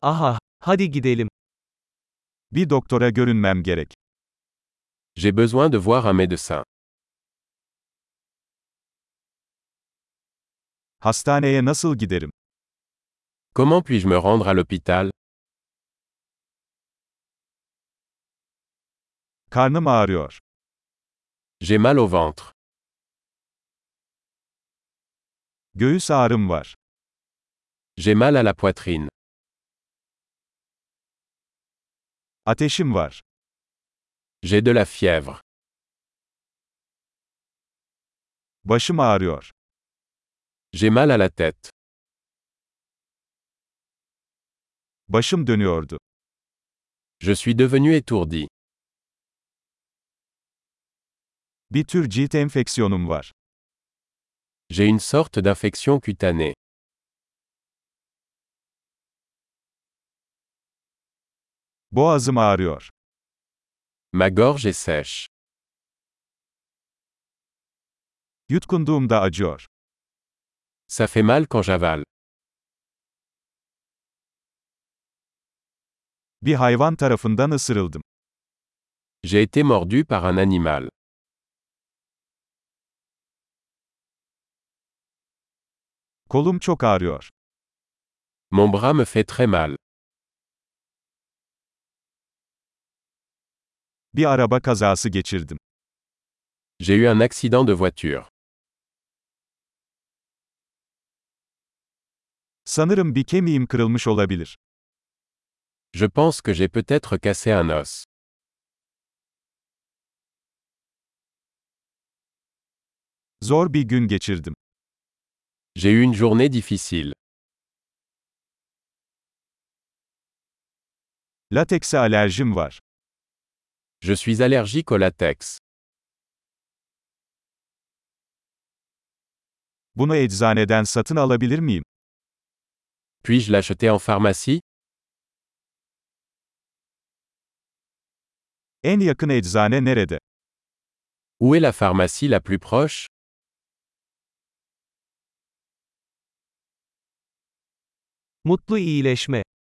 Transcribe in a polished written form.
Aha, hadi gidelim. Bir doktora görünmem gerek. J'ai besoin de voir un médecin. Hastaneye nasıl giderim? Comment puis-je me rendre à l'hôpital? Karnım ağrıyor. J'ai mal au ventre. Göğüs ağrım var. J'ai mal à la poitrine. Ateşim var. J'ai de la fièvre. Başım ağrıyor. J'ai mal à la tête. Başım dönüyordu. Je suis devenu étourdi. Bir tür cilt enfeksiyonum var. J'ai une sorte d'infection cutanée. Boğazım ağrıyor. Ma gorge est sèche. Yutkunduğumda acıyor. Ça fait mal quand j'avale. Bir hayvan tarafından ısırıldım. J'ai été mordu par un animal. Kolum çok ağrıyor. Mon bras me fait très mal. Bir araba kazası geçirdim. J'ai eu un accident de voiture. Sanırım bir kemiğim kırılmış olabilir. Je pense que j'ai peut-être cassé un os. Zor bir gün geçirdim. J'ai eu une journée difficile. Latekse alerjim var. Je suis allergique au latex. Bunu eczaneden satın alabilir miyim? Puis-je l'acheter en pharmacie? En yakın eczane nerede? Où est la pharmacie la plus proche? Mutlu iyileşme.